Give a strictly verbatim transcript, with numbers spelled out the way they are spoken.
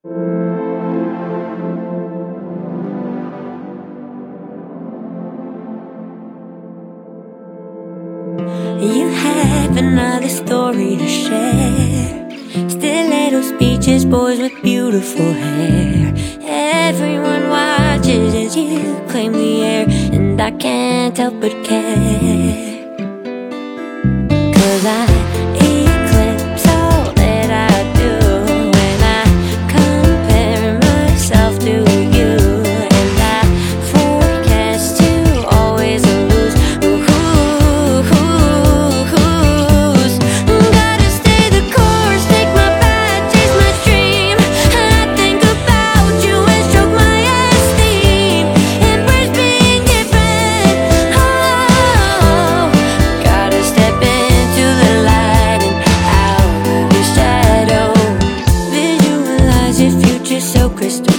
You have another story to share. Stilettos, beaches, boys with beautiful hair. Everyone watches as you claim the air, and I can't help but care. 'Cause I eclipse all that I do when I compare myself to you, and I forecast to always lose. Ooh, ooh, ooh, ooh. Gotta stay the course, take my path, chase my dream. I think about you and stroke my esteem. Embrace being different. Oh, gotta step into the light and out of your shadow. Visualize your future so crystal